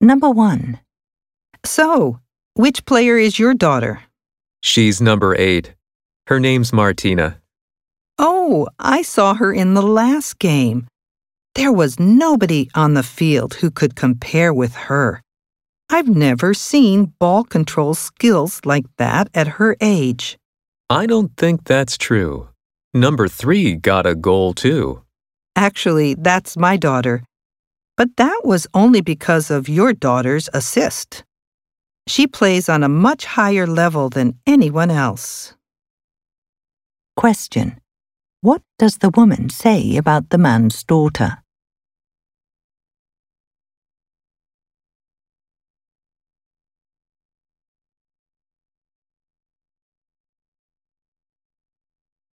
Number 1. So, which player is your daughter? She's number 8. Her name's Martina. Oh, I saw her in the last game. There was nobody on the field who could compare with her. I've never seen ball control skills like that at her age. I don't think that's true. Number 3 got a goal too. Actually, that's my daughter. But that was only because of your daughter's assist. She plays on a much higher level than anyone else. Question. What does the woman say about the man's daughter?